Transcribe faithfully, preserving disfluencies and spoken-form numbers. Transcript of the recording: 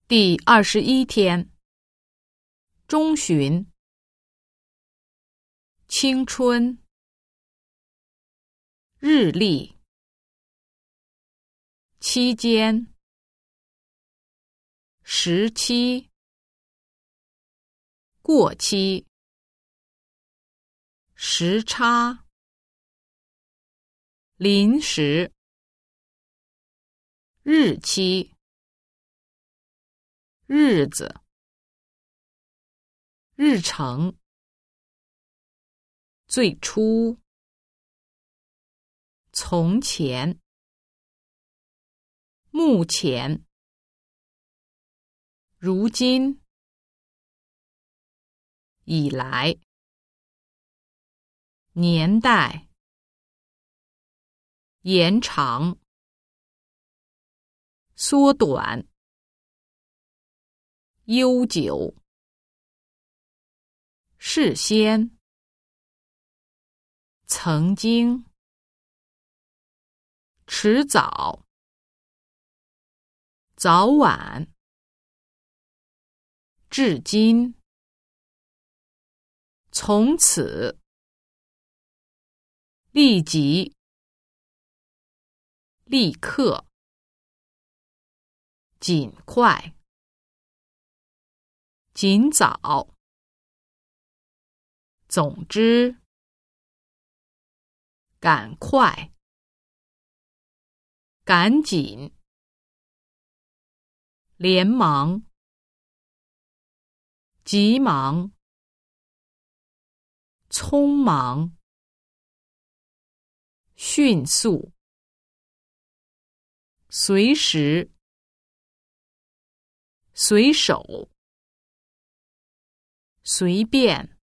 第二十一天，中旬，青春，日历，期间，时期，过期，时差，临时，日期，日子，日程，最初，从前，目前，如今，以来，年代，延长，缩短，悠久，事先，曾经，迟早，早晚，至今，从此，立即，立刻，尽快，尽早，总之，赶快，赶紧，连忙，急忙，匆忙，迅速，随时，随手，随便，